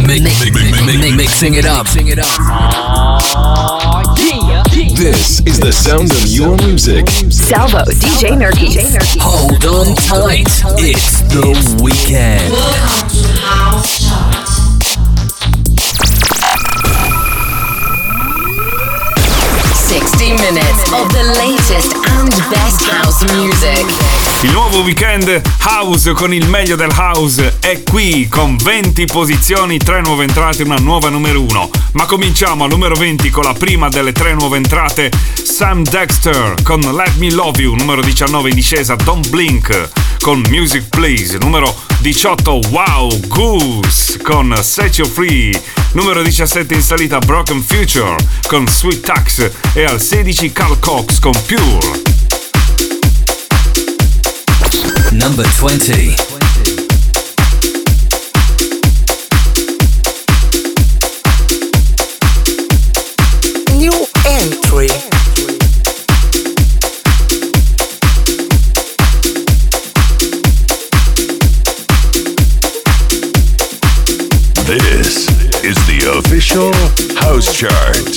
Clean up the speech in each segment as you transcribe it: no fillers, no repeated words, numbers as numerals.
Mixing it up. This is the sound of your music. Salvo, DJ Nerky. Hold on tight. It's the weekend. 60 minutes of the latest and best house music. Il nuovo weekend house con il meglio del house è qui con 20 posizioni, 3 nuove entrate e una nuova numero 1. Ma cominciamo al numero 20 con la prima delle 3 nuove entrate, Sam Dexter con Let Me Love You, numero 19 in discesa Don't Blink con Music Please, numero 18 Wow Goose con Set You Free, numero 17 in salita Broken Future con Sweet Tax e al 16 Carl Cox con Pure. Number 20. New entry. This is the official house chart.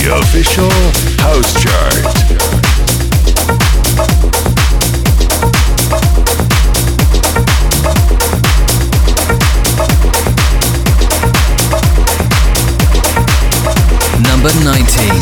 The official house chart. Number 19.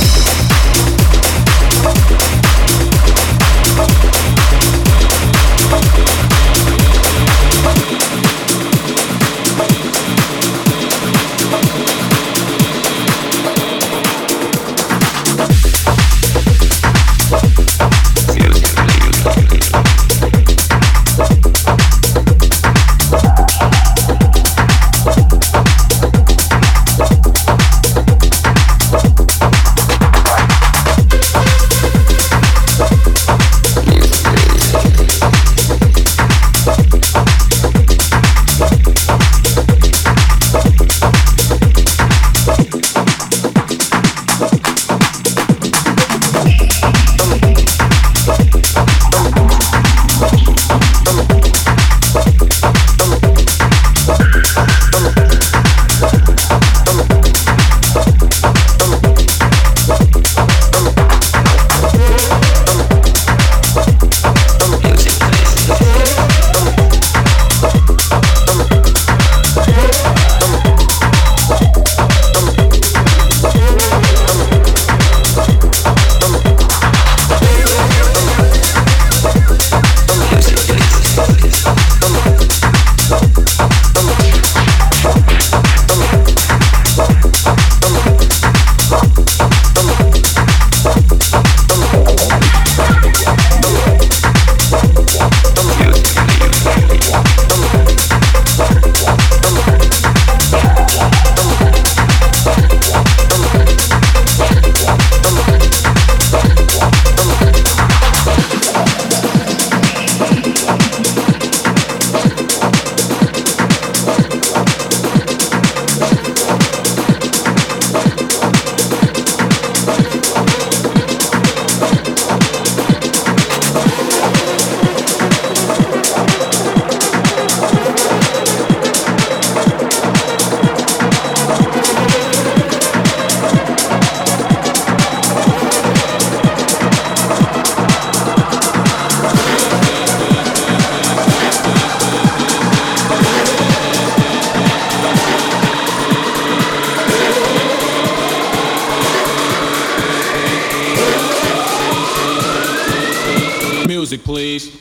Music, please.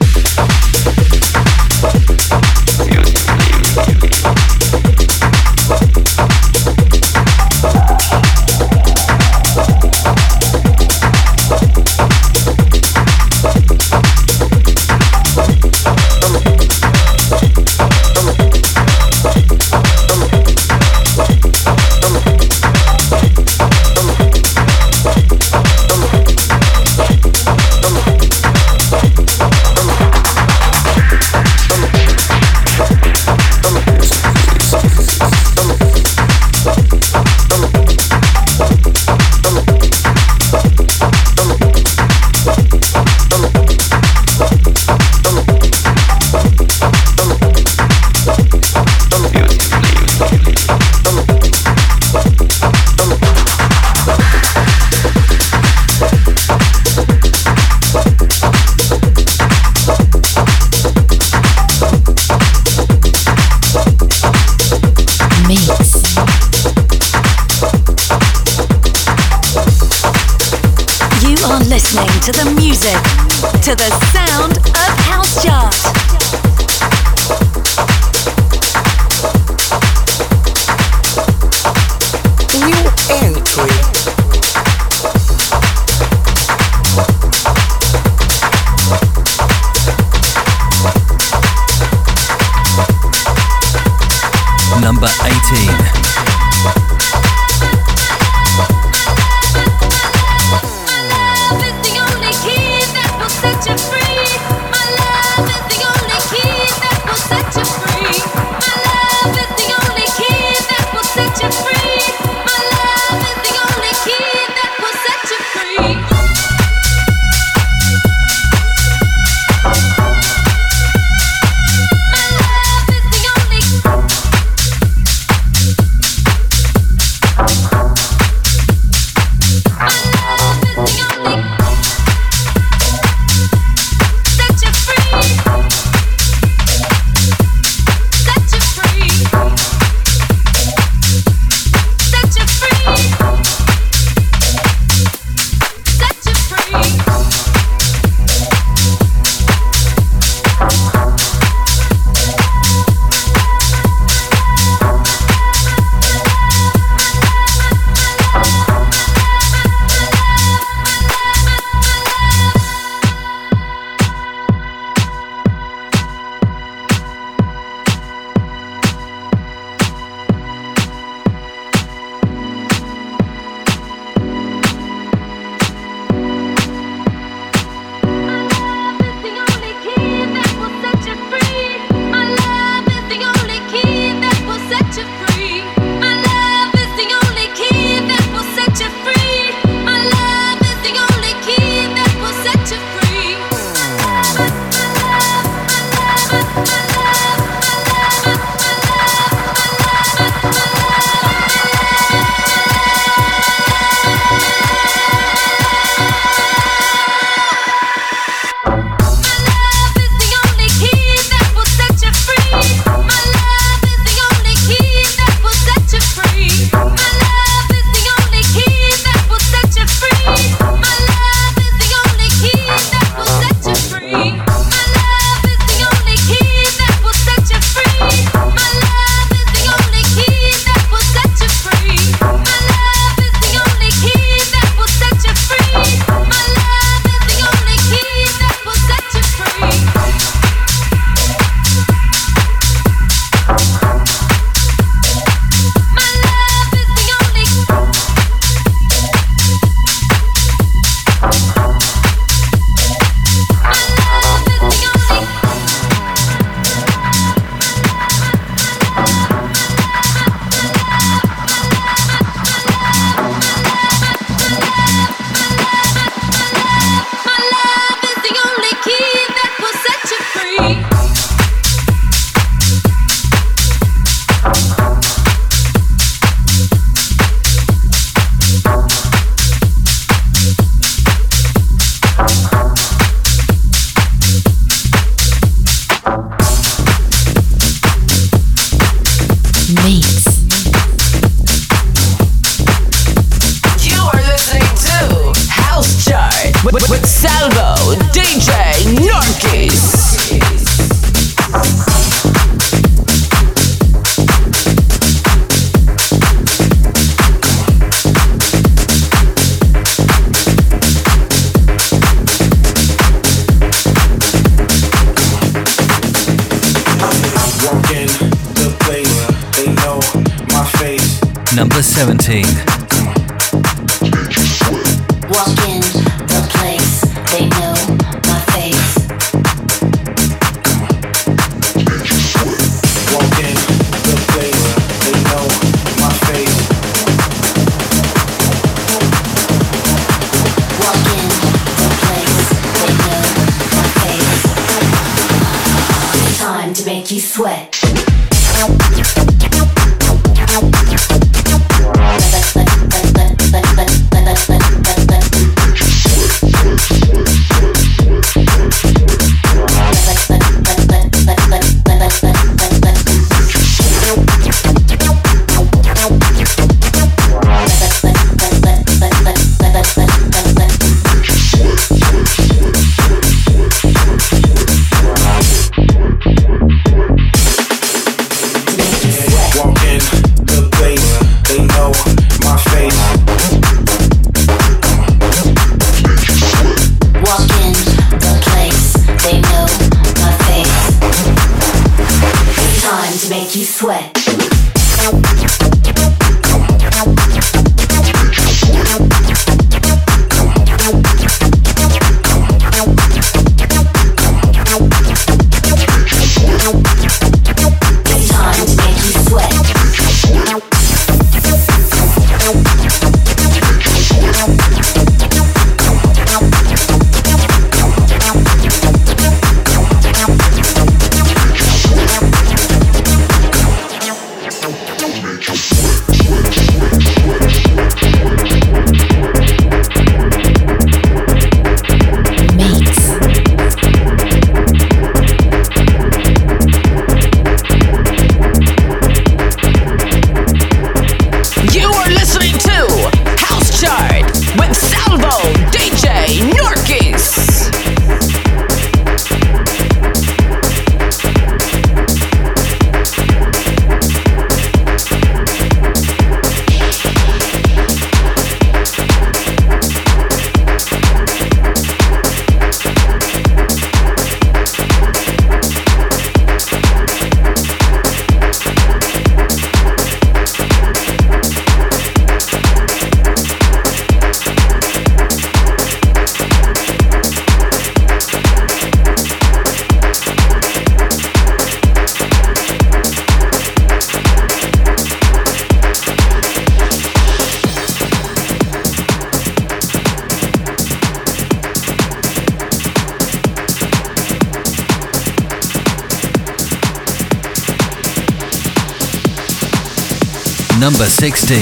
Listening to the music, to the sound of House Chart. New entry. Number 18. Free. My love with Salvo, DJ Norkis. Number 17. Walk in the place, they know my face. Walk in the place, they know my face. Walk in the place, they know my face. It's time to make you sweat. Number 16.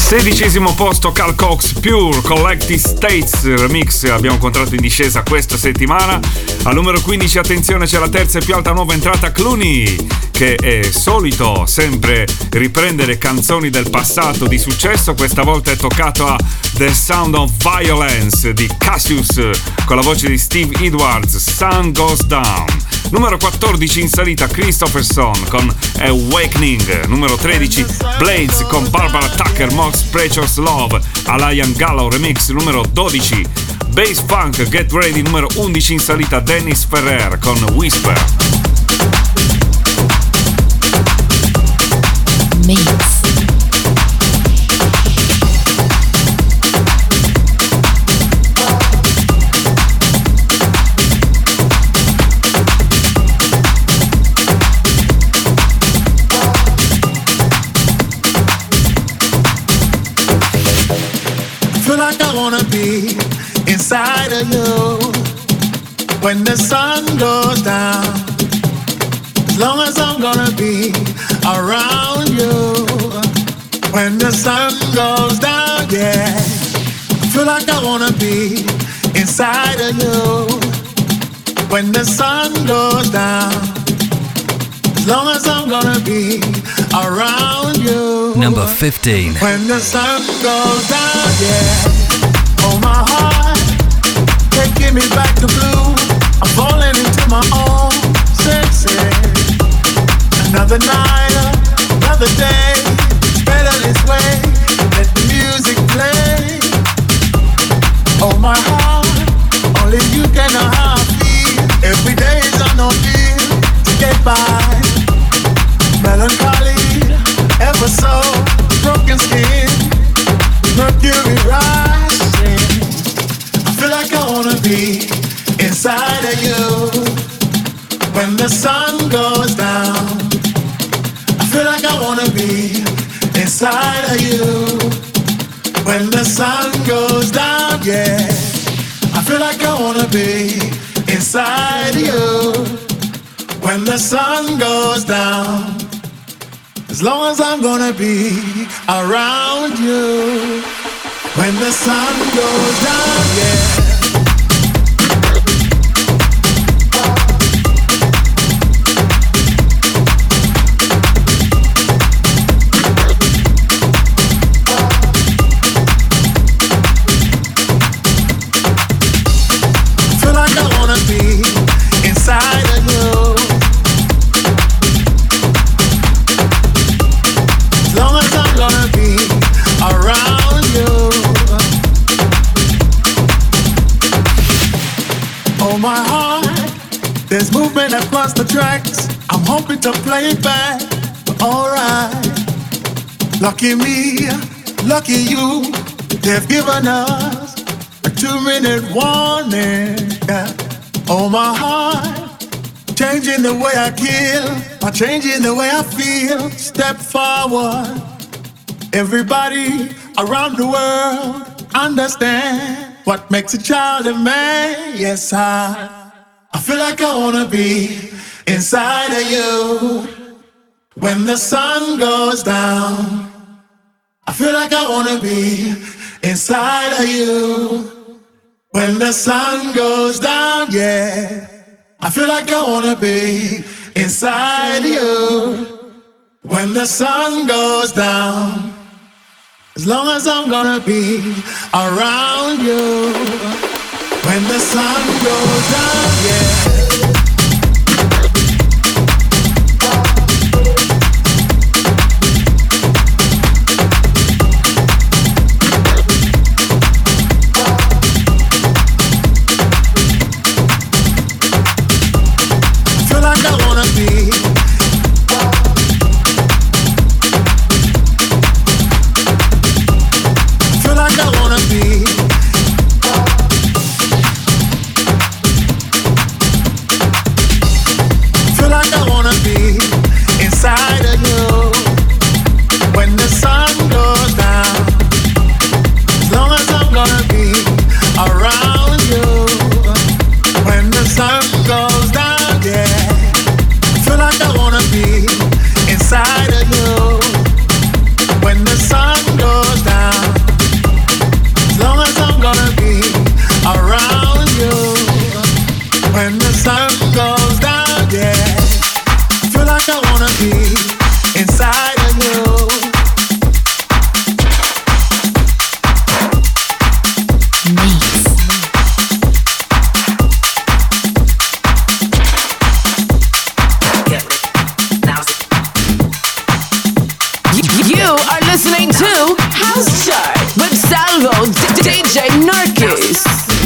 16° posto Carl Cox, Pure Collective States Remix, abbiamo incontrato in discesa questa settimana. Al numero 15, attenzione, c'è la terza e più alta nuova entrata, Clooney, che è solito sempre riprendere canzoni del passato di successo. Questa volta è toccato a The Sound of Violence di Cassius con la voce di Steve Edwards, Sun Goes Down. Numero 14 in salita, Christopherson con Awakening. Numero 13, Blades con Barbara Tucker, Most Precious Love, Alain Gallo remix. Numero 12, Bass Funk, Get Ready. Numero 11 in salita, Dennis Ferrer con Whisper. Mix. Like I wanna be inside of you when the sun goes down. As long as I'm gonna be around you when the sun goes down, yeah. I feel like I wanna be inside of you when the sun goes down. As long as I'm gonna be around you. Number 15. When the sun goes down, yeah. Oh, my heart, taking me back to blue. I'm falling into my own senses. Another night, another day. It's better this way. Let the music play. Oh, my heart, only you can know how I feel. Every day is on no deal to get by. Melancholy, ever so broken skin, mercury rising. I feel like I wanna be inside of you when the sun goes down. I feel like I wanna be inside of you when the sun goes down, yeah. I feel like I wanna be inside of you when the sun goes down. As long as I'm gonna be around you when the sun goes down, yeah. Feel like I wanna be inside of you. Gonna be around you. Oh, my heart, there's movement across the tracks. I'm hoping to play it back, but alright. Lucky me, lucky you, they've given us a 2-minute warning. Yeah. Oh, my heart, changing the way I kill, or changing the way I feel. Step forward. Everybody around the world understand what makes a child a man. Yes, I feel like I wanna be inside of you when the sun goes down. I feel like I wanna be inside of you when the sun goes down, yeah. I feel like I wanna be inside of you when the sun goes down. As long as I'm gonna be around you when the sun goes down, yeah. Feel like I wanna be. I wanna be. sun goes down, yeah. Feel like I wanna be inside of you. You are listening to House Chart with Salvo DJ Narkis.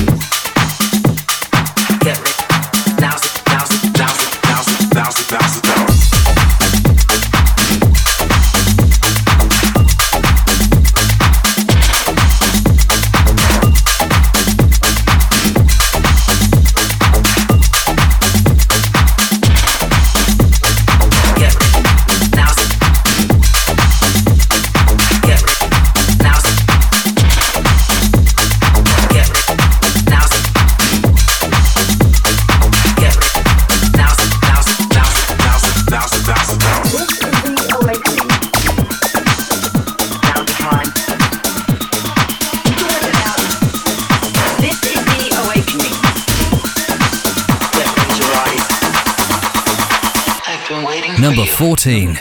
Number 14.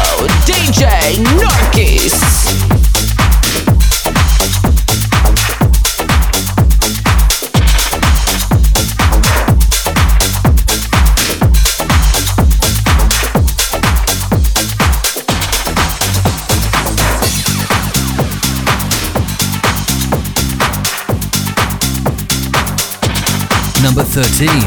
DJ Narkis. Number 13.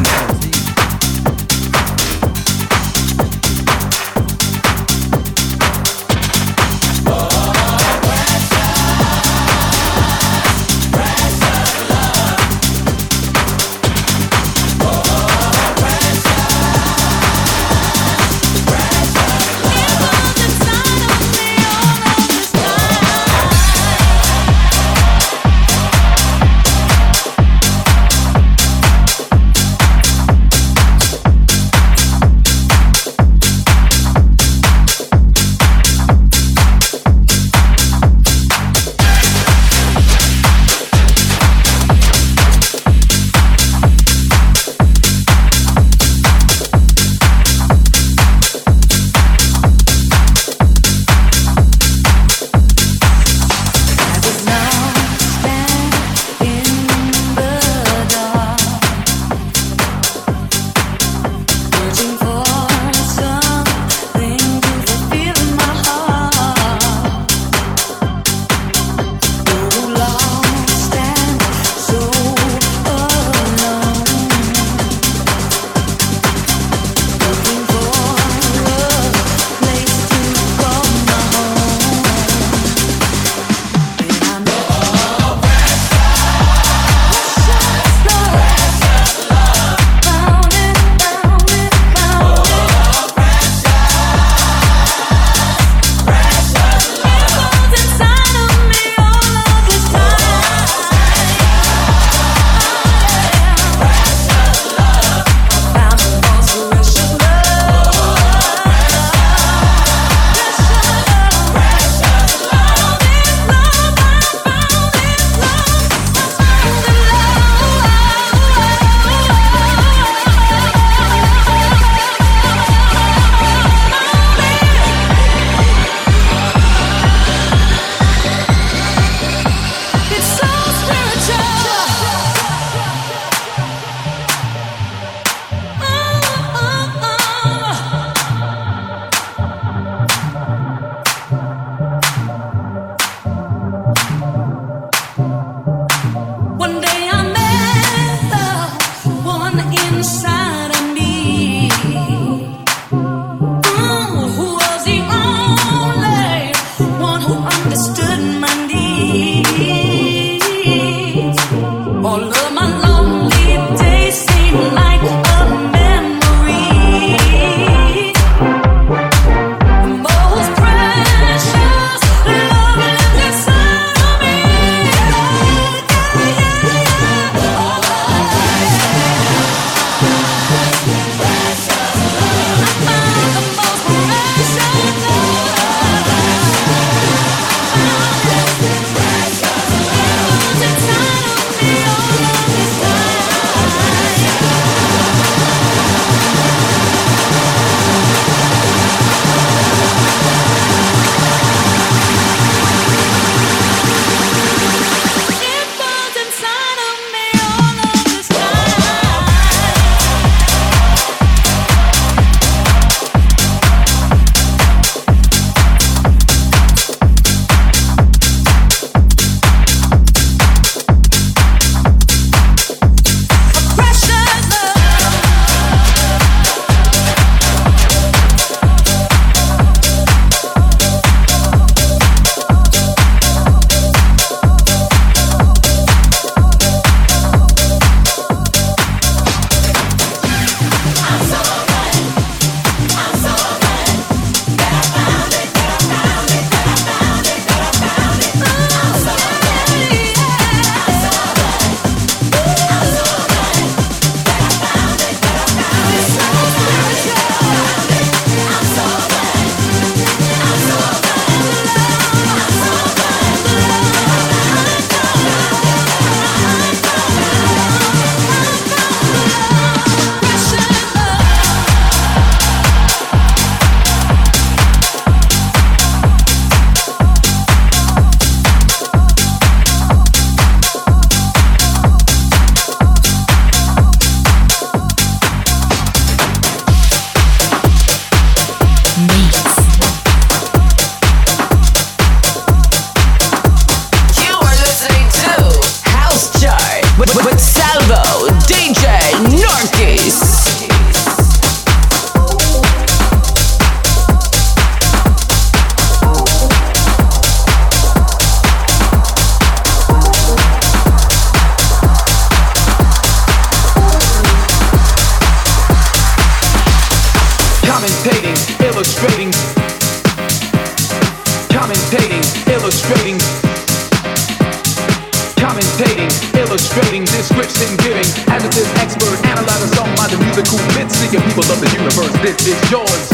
illustrating, description giving, adjective expert, analyzing song by the musical bit, seeking people of the universe. This is yours.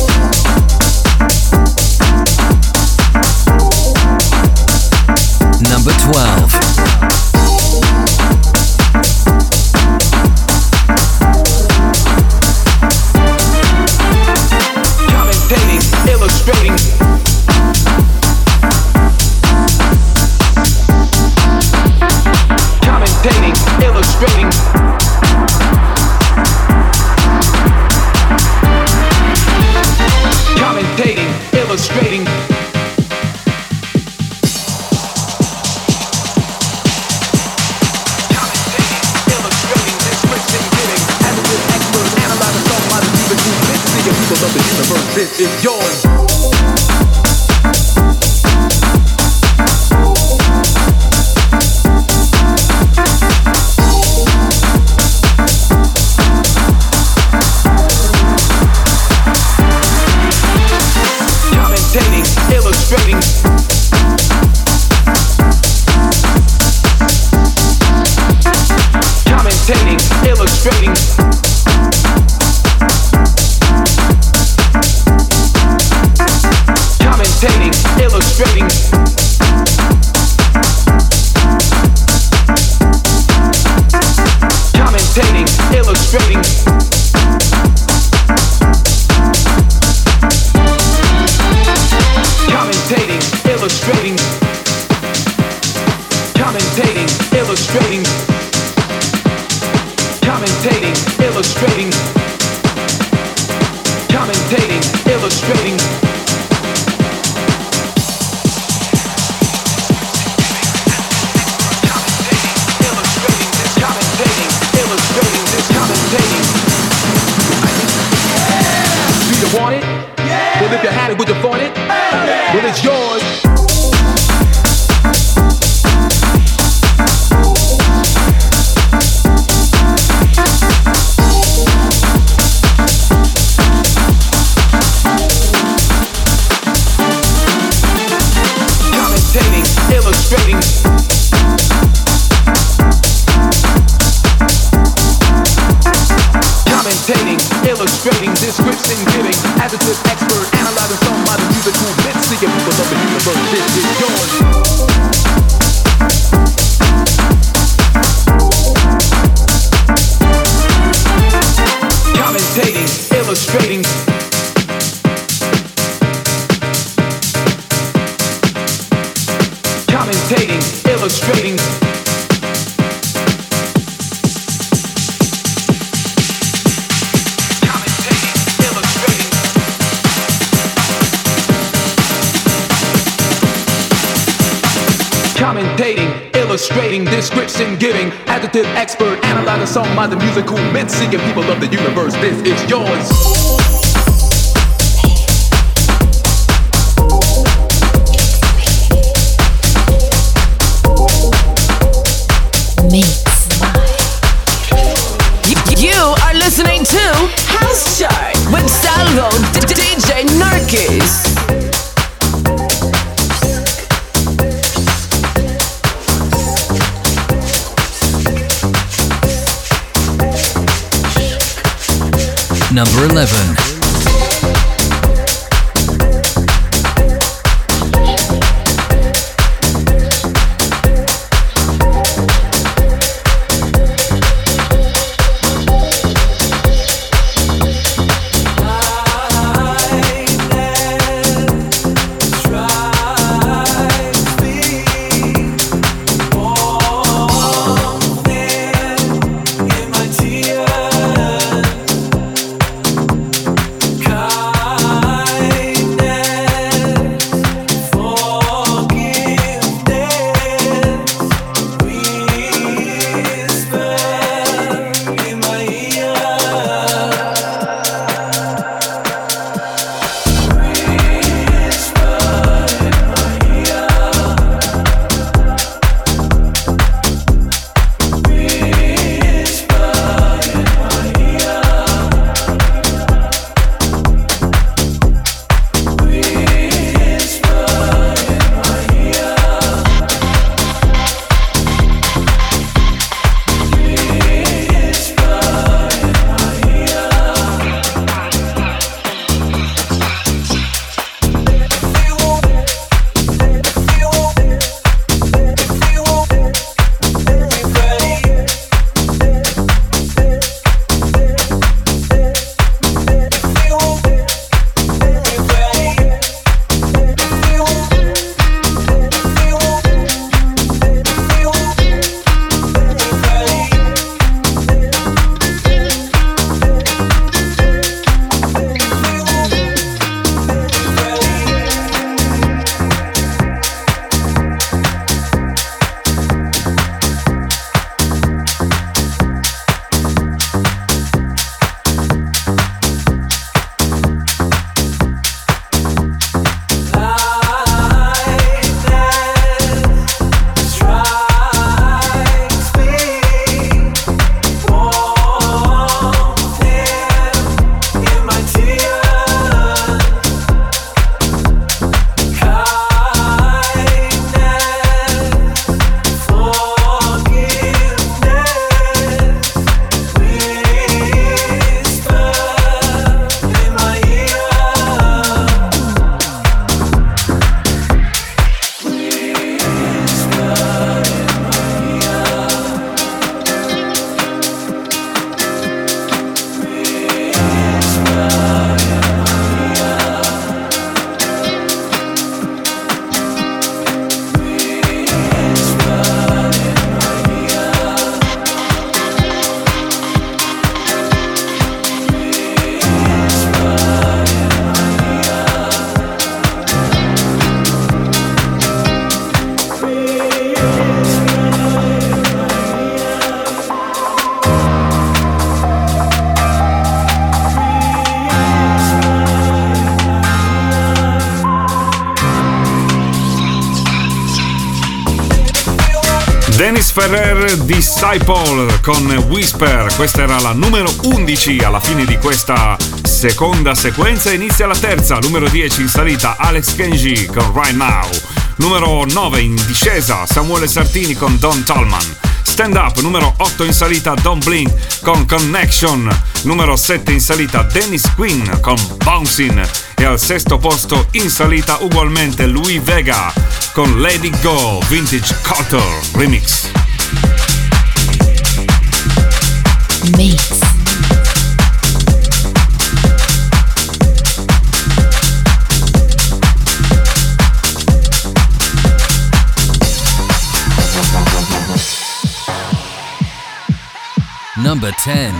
Number 12. Illustrating, commentating, illustrating, commentating, illustrating. Of the universe, this is yours. Commentating, illustrating, commentating, illustrating. Commentating, illustrating, commentating, illustrating, commentating, illustrating, commentating, illustrating, commentating, illustrating, commentating, illustrating. Want it? Yeah. Well, if you had it, would you want it? Yeah. Well, it's yours. Commentating, illustrating, commentating, illustrating, description giving, adjective expert, analyzing song by the musical bit, seeking people of the universe. This is yours. Commentating, illustrating, commentating, illustrating. Commentating, illustrating, description giving, adjective expert, analyzing song by the musical bit, seeking people of the universe. This is yours. You are listening to House Chart with Salvo DJ Narkis. Number 11. Dennis Ferrer di Saipol con Whisper. Questa era la numero 11. Alla fine di questa seconda sequenza inizia la terza. Numero 10 in salita Alex Kenji con Right Now. Numero 9 in discesa Samuele Sartini con Don Tallman. Stand Up, numero 8 in salita Don't Blink con Connection. Numero 7 in salita Dennis Quinn con Bouncing. E al sesto posto in salita ugualmente Louis Vega con Let It Go Vintage Culture Remix. Mix. Number 10.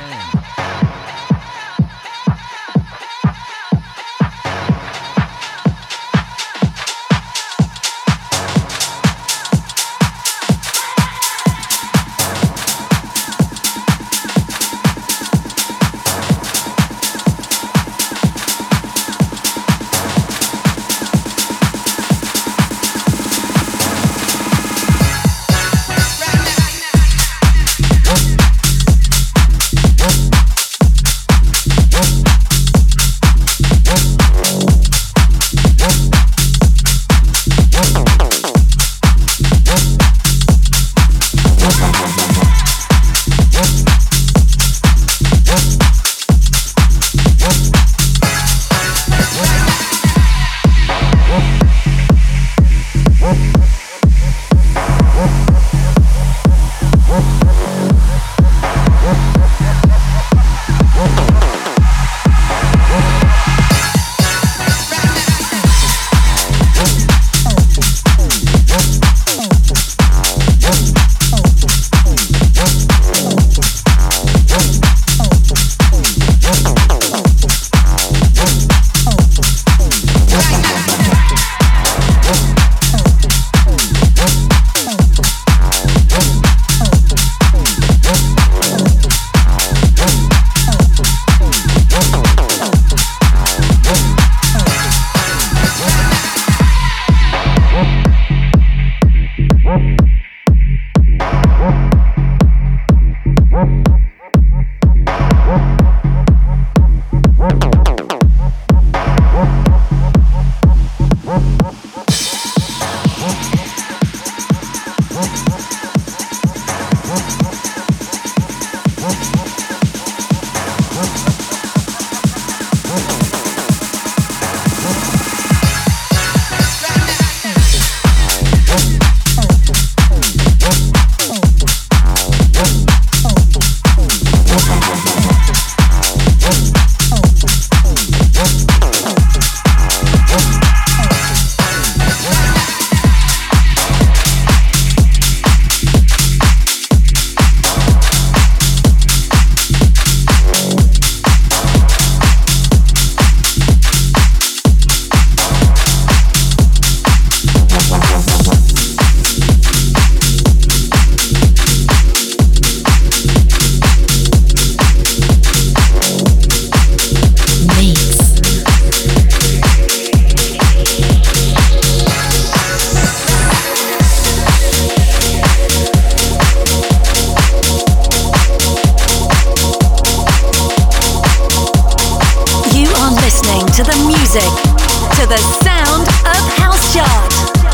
To the music, to the sound of House Chart.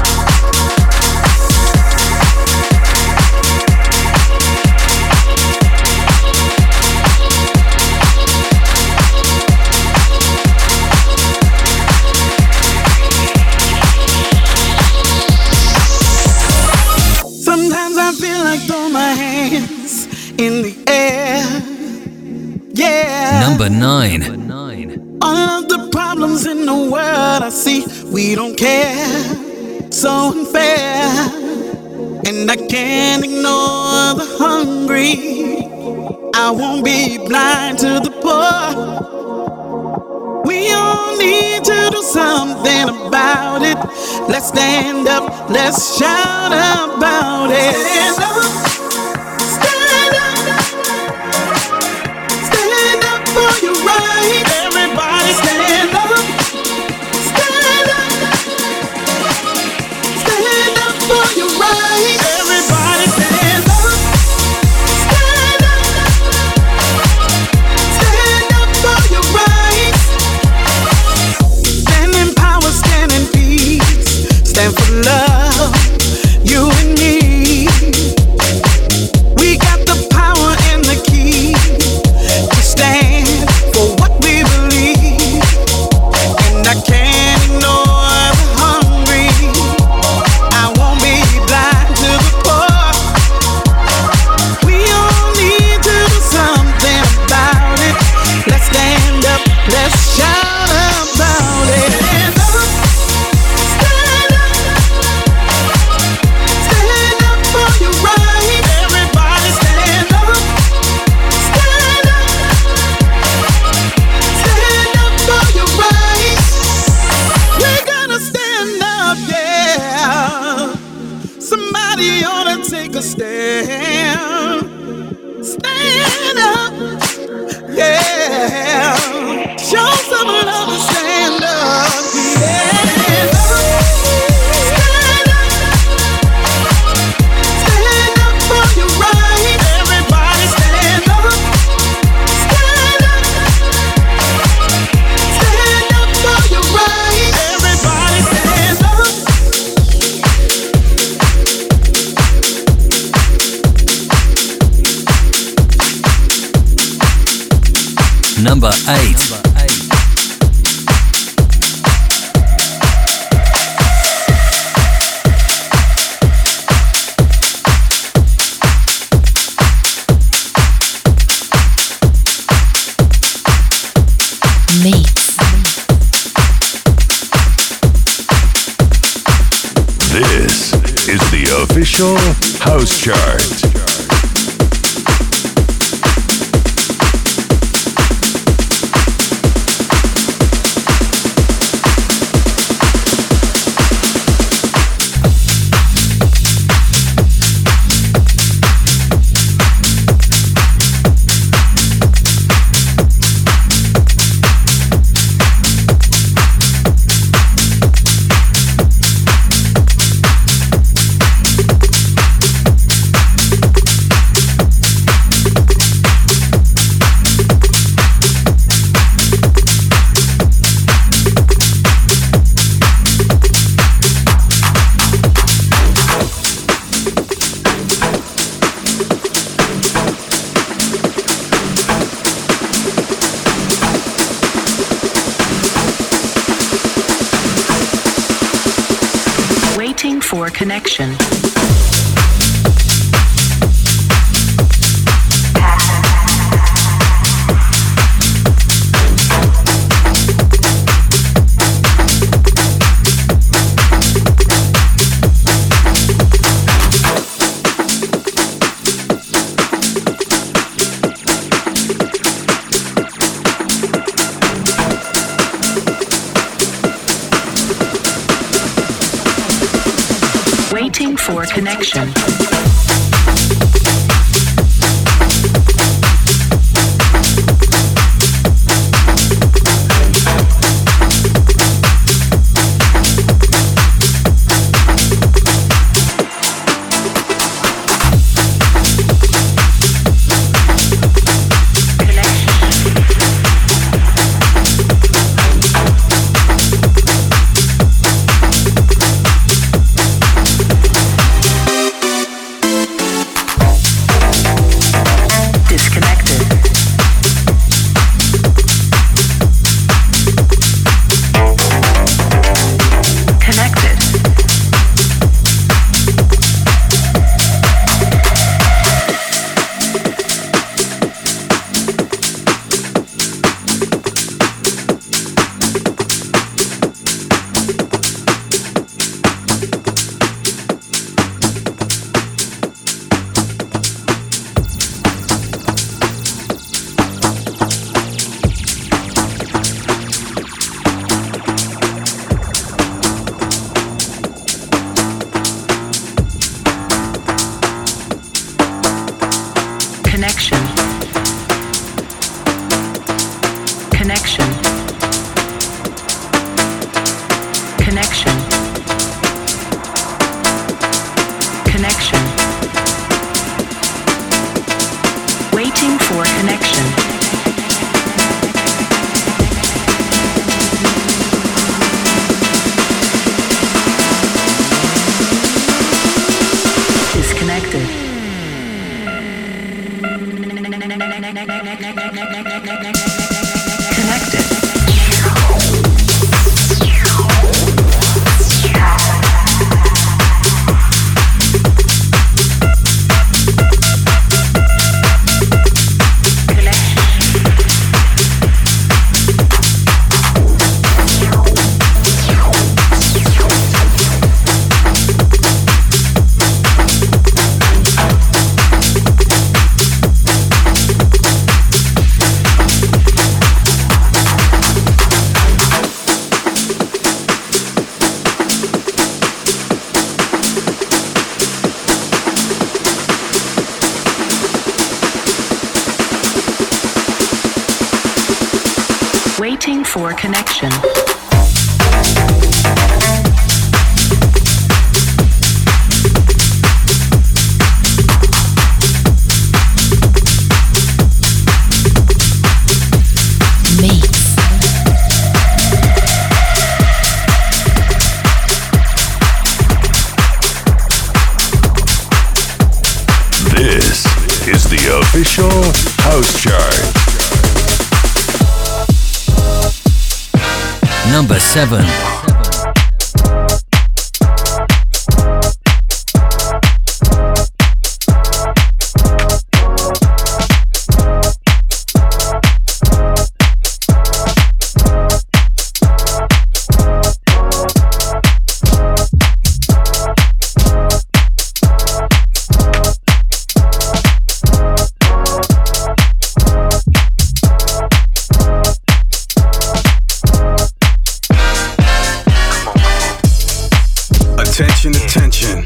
Sometimes I feel like throw my hands in the air. Yeah. Number 9. All of the problems in the world I see, we don't care. So unfair. And I can't ignore the hungry. I won't be blind to the poor. We all need to do something about it. Let's stand up, let's shout about it. Stand up, stand up, stand up for your right. Everybody stand up, stand up, stand up for your right. Everybody stand up. stand up. Yeah, show some love and stand up. Yeah. Number 8. This is the official House Chart. For connection. Waiting for connection. Waiting for connection. This is the official House Chart. Number 7. Attention.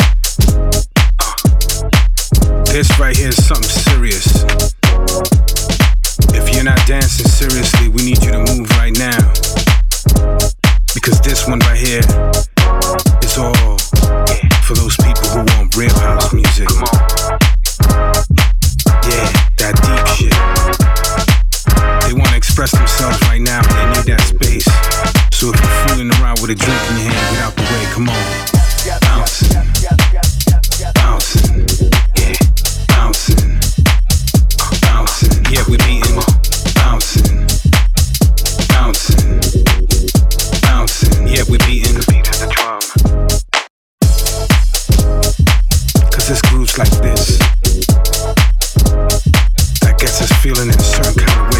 This right here is something serious. If you're not dancing seriously, we need you to move right now. Because this one right here is all for those people who want real house music. Yeah, that deep shit. They want to express themselves right now, but they need that space. So if you're fooling around with a drink in your hand, get out the way, come on. Bouncing, bouncing, yeah, bouncing, bouncing, yeah, we beating, bouncing, bouncing, bouncing, yeah, we beating the beat of the drum. Cause this groove's like this, that gets us feeling in a certain kind of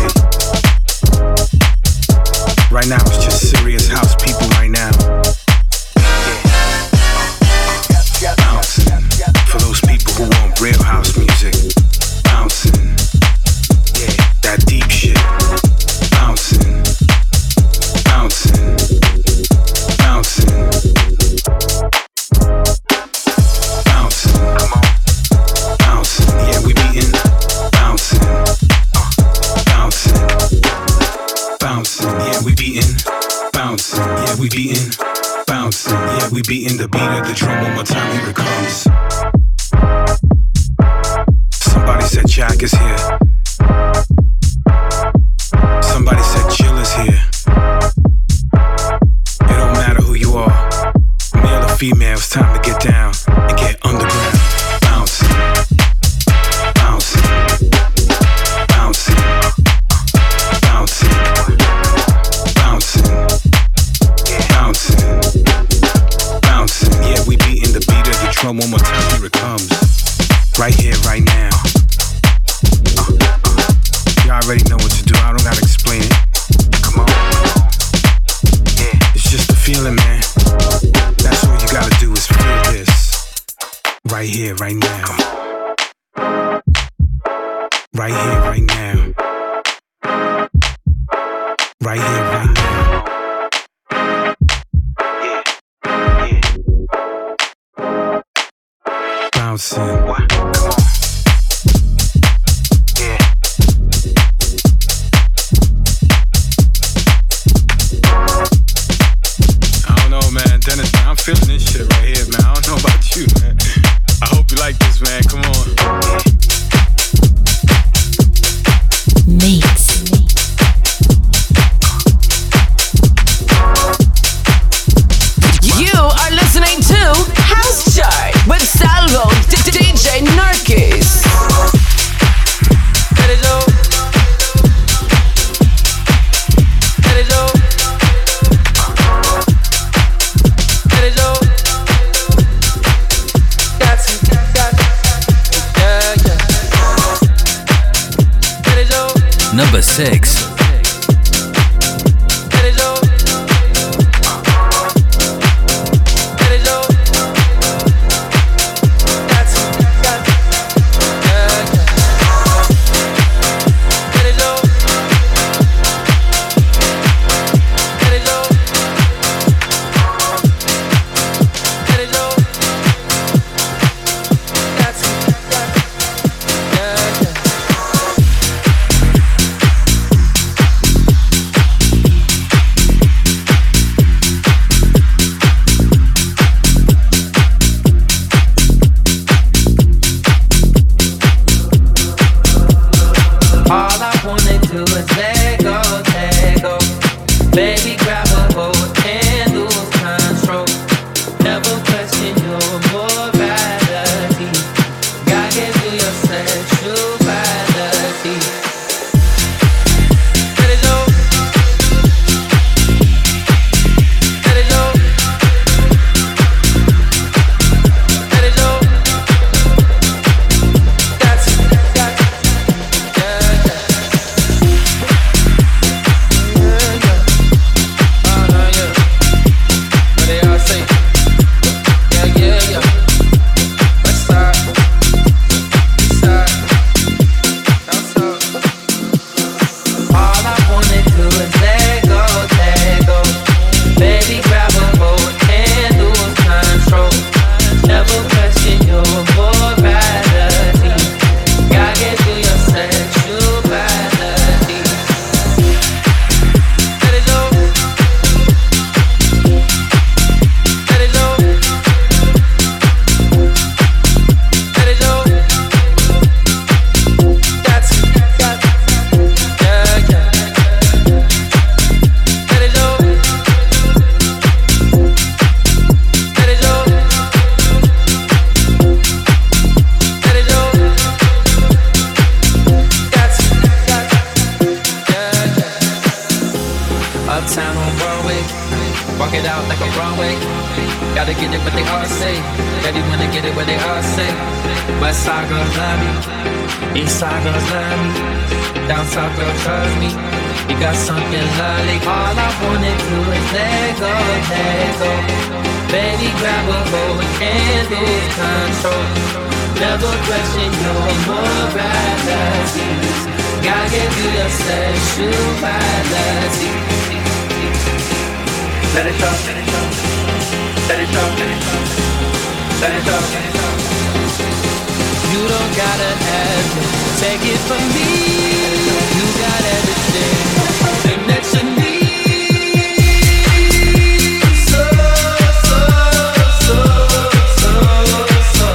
way. Right now it's just serious house people right now. For those people who want real house music, bouncing, yeah, that deep shit, bouncing, bouncing, bouncing, bouncing, come on, bouncing, yeah, we beating, bouncing, bouncing, bouncing, yeah, we beating, bouncing, yeah, we beating, bouncing, yeah, we beating the beat of the drum one more time, here it comes. Somebody said Jack is here. Somebody said Jill is here. It don't matter who you are, male or female, it's time to get down and get underground. Bouncing, bouncing, bouncing, bouncing, bouncing, bouncing, bouncing. Yeah, we beating the beat of the drum one more time, here it comes. Right here, right now. You already know what to do, I don't gotta explain it. Come on. Yeah, it's just a feeling, man. That's all you gotta do is feel this. Right here, right now. Right here, right now. Right here, right now. Bouncing. What? Come on. Yeah. I don't know, man. Dennis, man, I'm feeling this shit right here, man. I don't know about you, man. I hope you like this, man. Come on. Mates. You are listening to House Chart with Salvo DJ Narkis. Let it go. Let it go. Let it go. That's it. Yeah, yeah. Let it go. Number 6. do is let go, let go. Baby, grab a hold and lose control. Never question your morality. God gave you your sexuality. Let it go. Let it go. Let it go. That's yeah, yeah. Uptown on Broadway, walk it out like a Broadway. Gotta get it what they all say. Baby, wanna get it what they all say. West side girls love me, east side girls love me, down south girls trust me. You got something lovely. All I wanna do is let go, let go. Baby, grab a hold and lose control. Never question your morality. God gave you your sexuality. Let it go, let it go, let it go, let it go, let it go, let it go. You don't gotta have it, take it from me. You got everything that you need. So, so, so, so, so.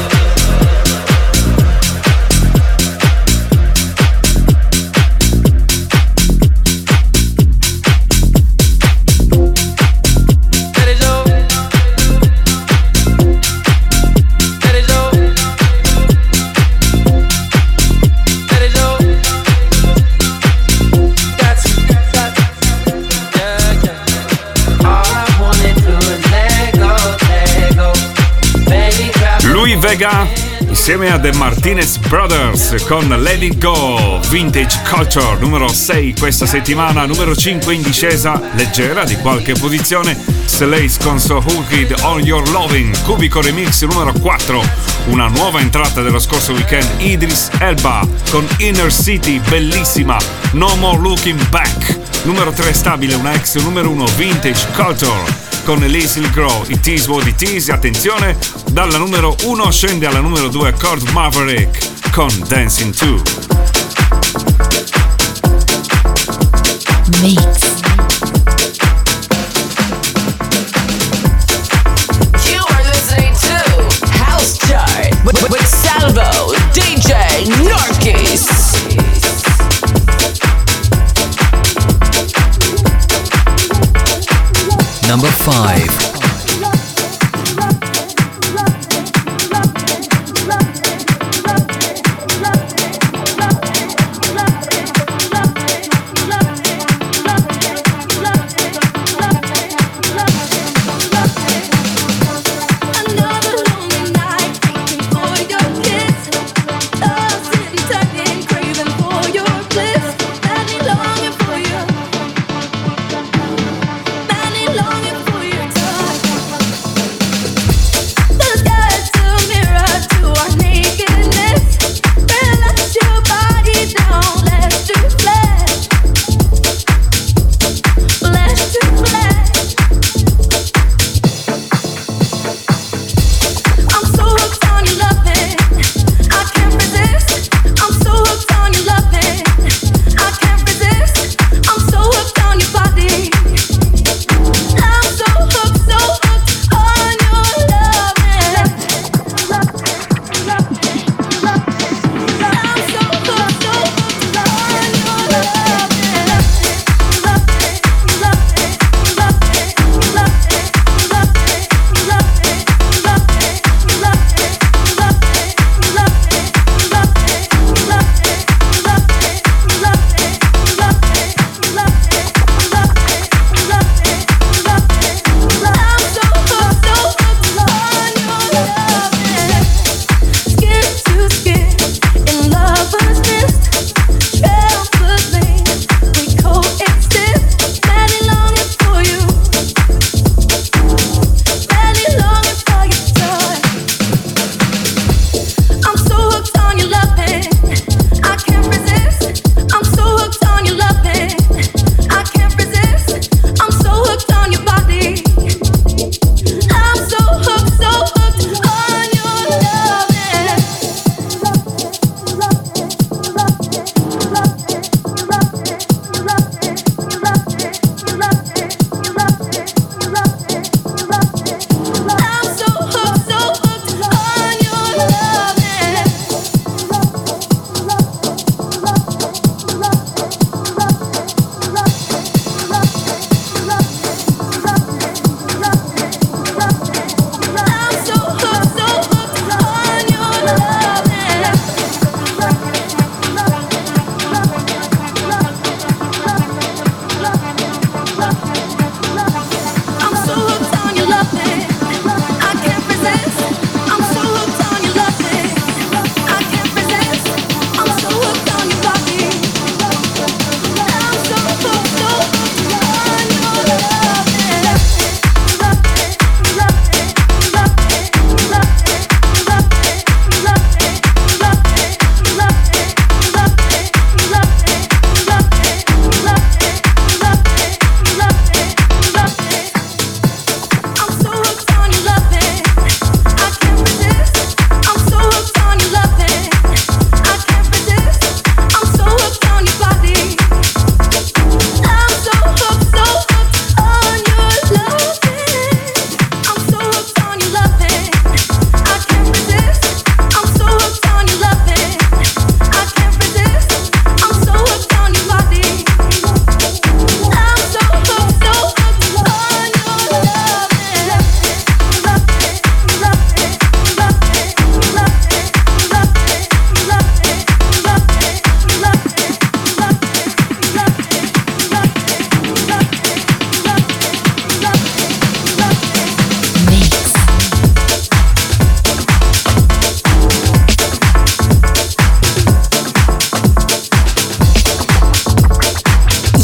Vega insieme a The Martinez Brothers con Let It Go, Vintage Culture, numero 6 questa settimana, numero 5 in discesa leggera di qualche posizione, Slays con So Hooked On Your Loving, Cubico Remix numero 4, una nuova entrata dello scorso weekend, Idris Elba con Inner City, bellissima, No More Looking Back, numero 3 stabile, una ex numero 1, Vintage Culture con Leslie Grow, It Is What It Is, attenzione, dalla numero 1 scende alla numero 2 Cord Maverick con Dancing 2. Mix. You are listening to House Chart with Salvo, DJ Narkis. Number 5. Longing for your touch.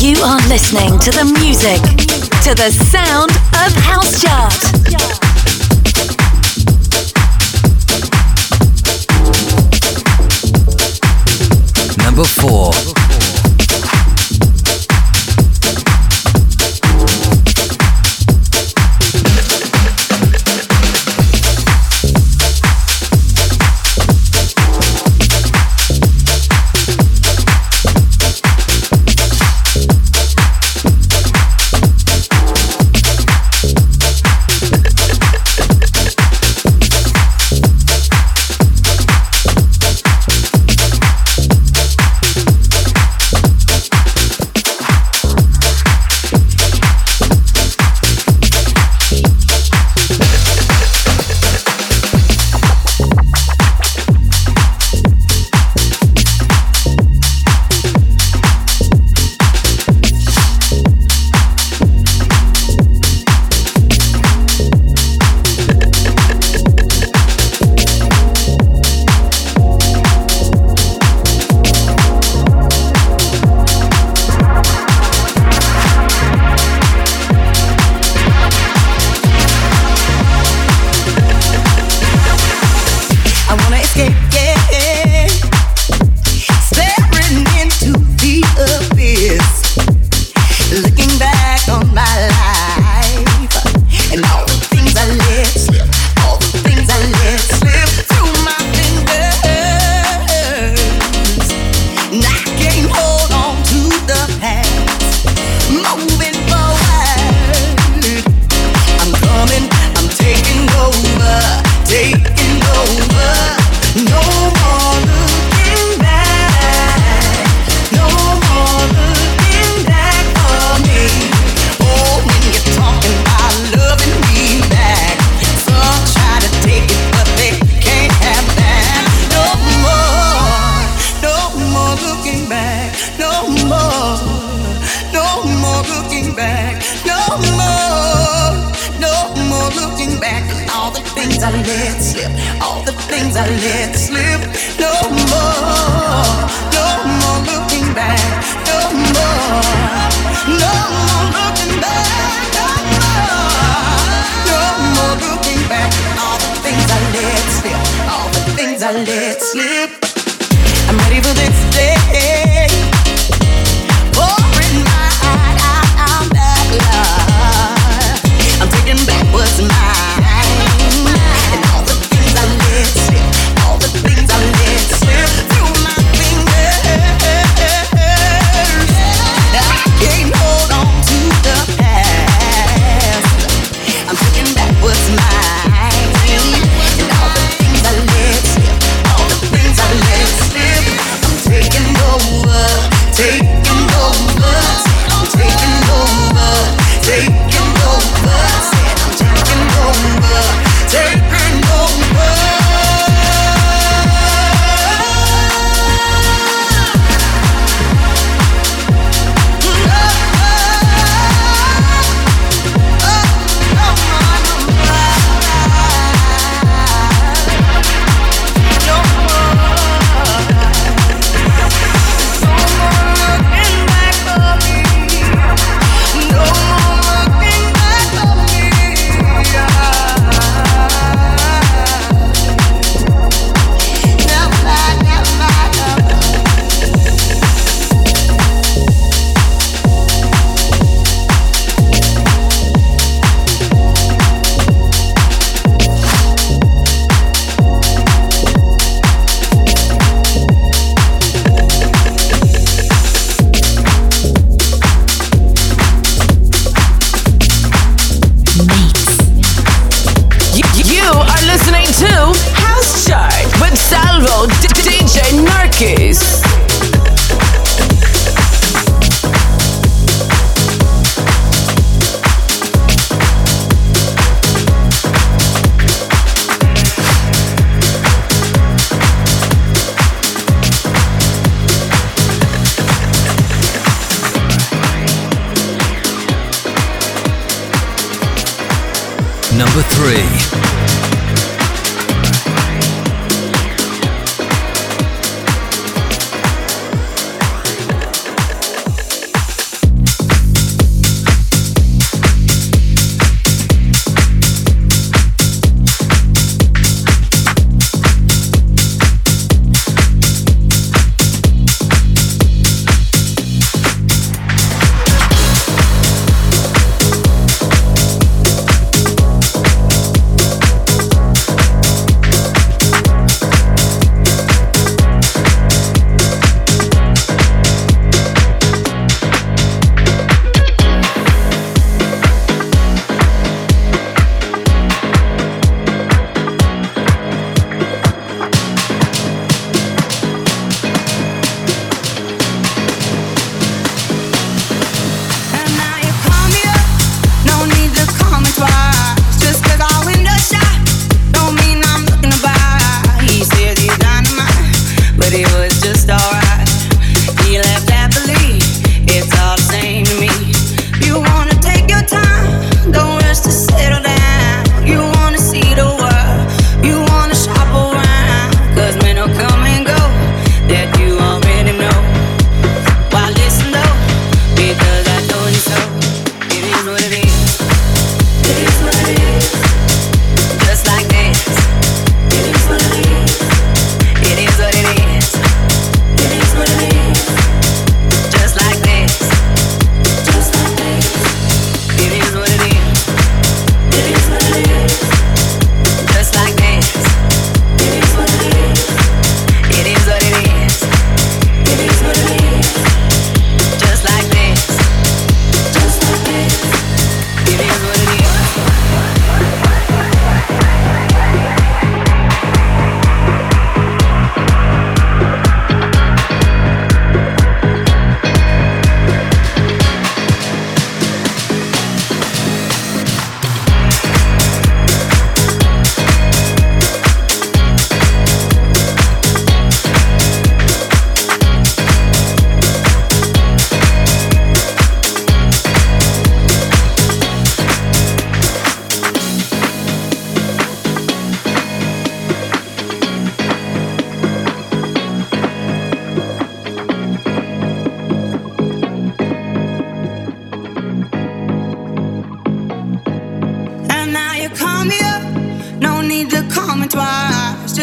You are listening to the music, to the sound of House Chart. Number 4. Number 3.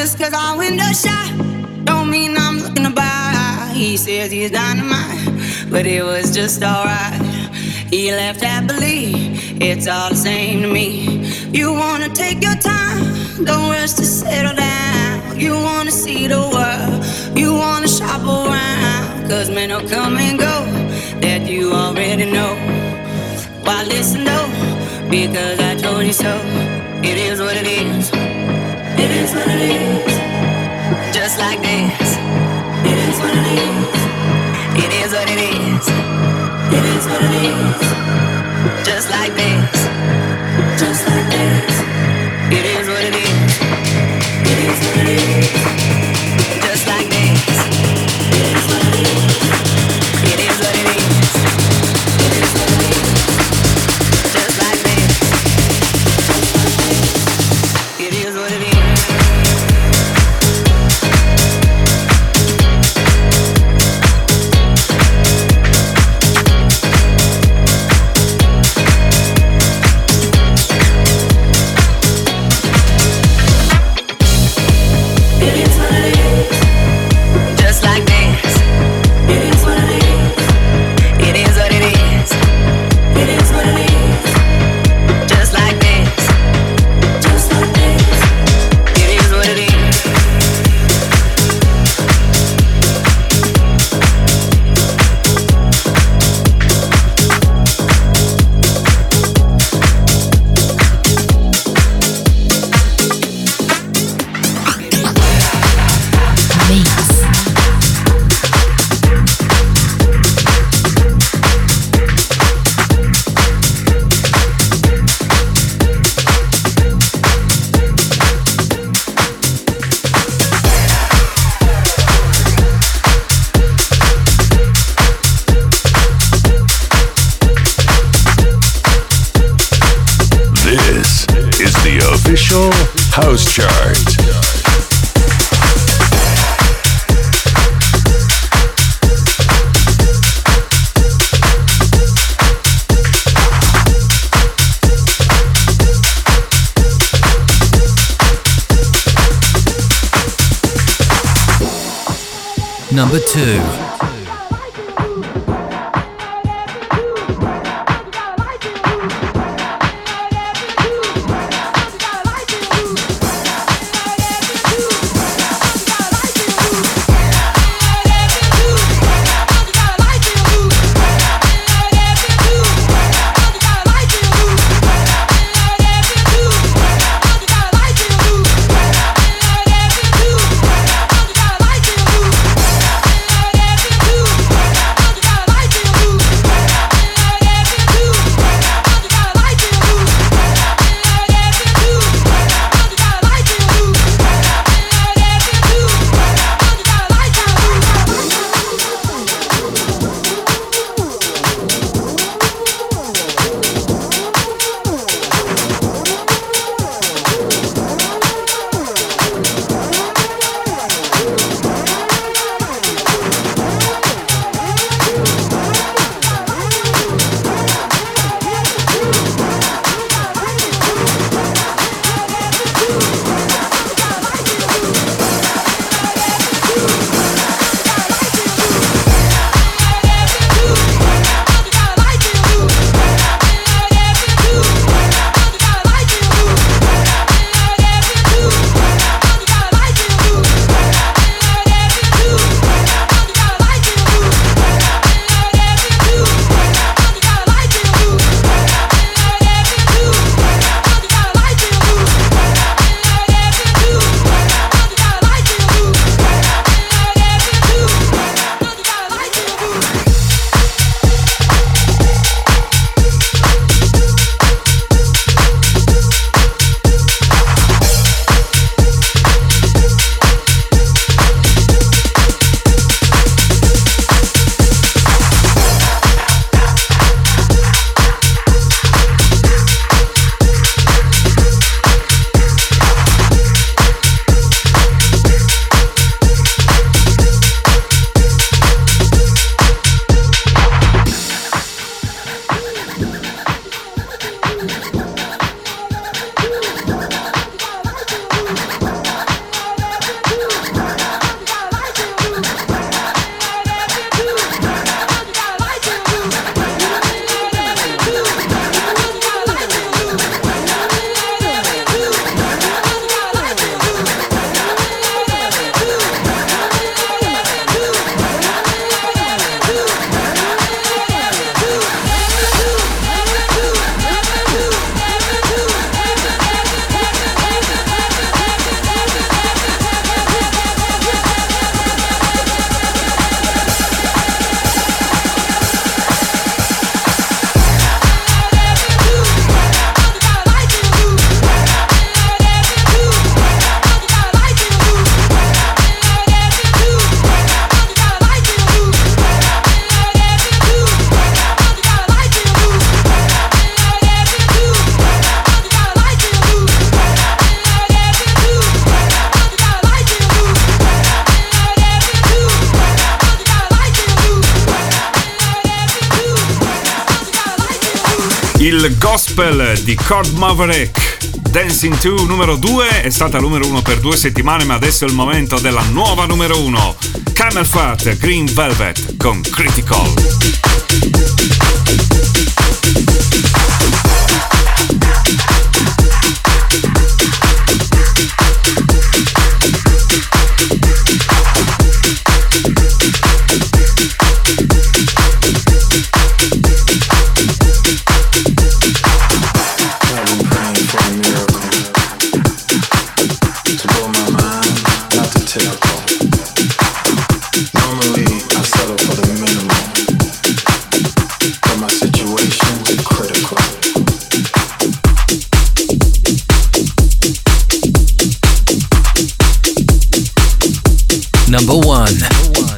just cause our window shot don't mean I'm looking to buy. He says he's dynamite, but it was just alright. He left happily, it's all the same to me. You wanna take your time, don't rush to settle down. You wanna see the world, you wanna shop around. Cause men will come and go, that you already know. Why listen though, because I told you so. It is what it is, it is what it is. Just like this, it is what it is. It is what it is, it is what it is. Just like this, just like this. It is what it is, it is what it is. Just like this, it is what it is. It is what it is, it is what it is. Just like this, it is what it is. House Chart. Number 2. Il gospel di Cord Maverick, Dancing 2 numero 2, è stata numero 1 per 2 settimane, ma adesso è il momento della nuova numero 1. Camel Fat, Green Velvet con Critical. Number 1.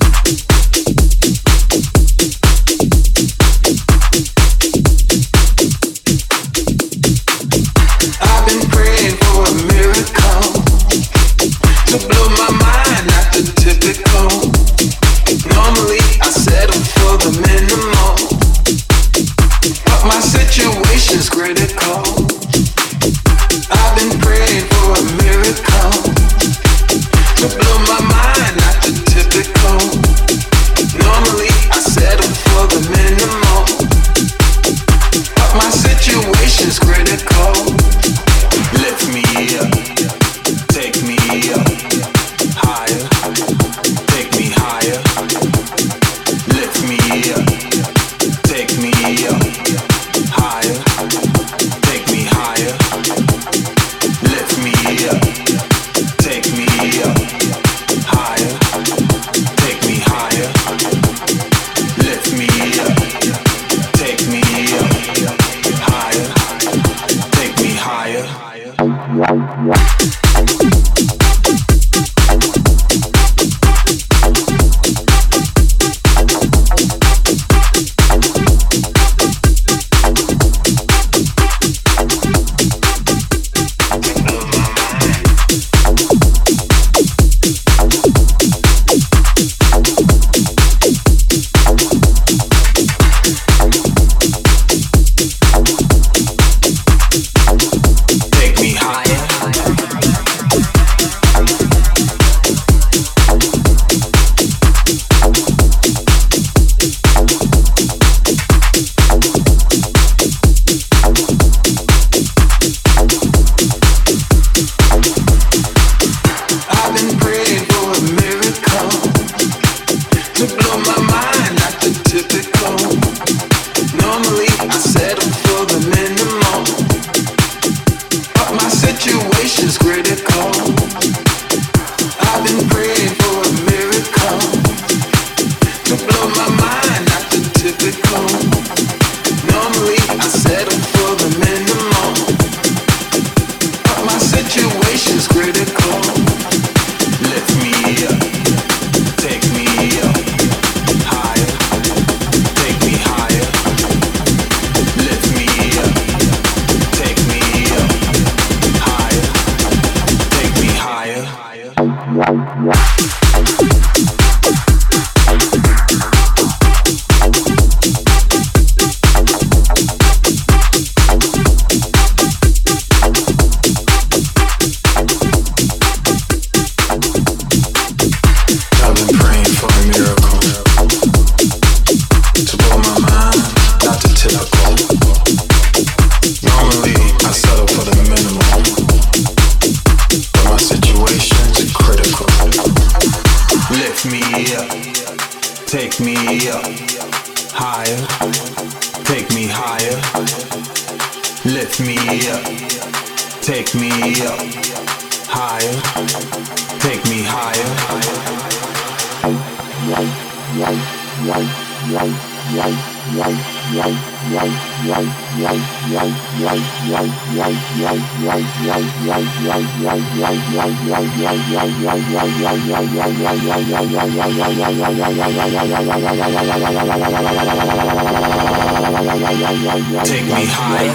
Take me higher.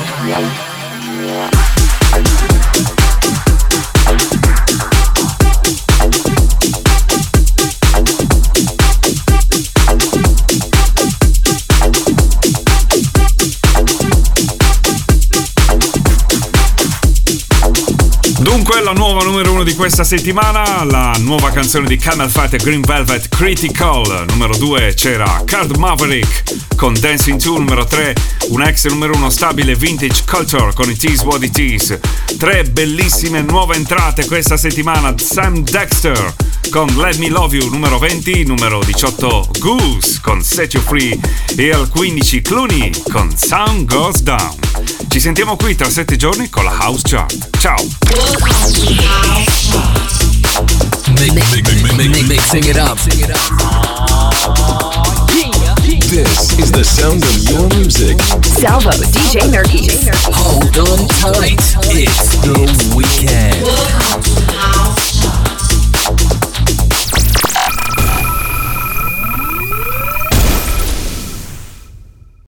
1 di questa settimana, la nuova canzone di Camel Fat e Green Velvet, Critical. Numero 2 c'era Card Maverick con Dancing 2. Numero 3 un ex numero 1 stabile, Vintage Culture con It Is What It Is. 3 bellissime nuove entrate questa settimana, Sam Dexter con Let Me Love You. Numero 20, numero 18 Goose con Set You Free e al 15 Clooney con Sound Goes Down. Ci sentiamo qui tra 7 giorni con la House Chart. Ciao! Mixing it up. This is the sound of your music. Salvo, DJ Nurkis. Hold on tight. It's the weekend.